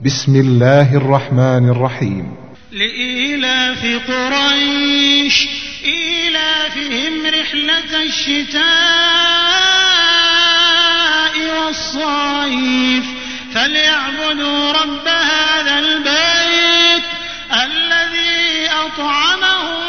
بسم الله الرحمن الرحيم. لإيلاف قريش إيلافهم رحلة الشتاء والصيف فليعبدوا رب هذا البيت الذي أطعمهم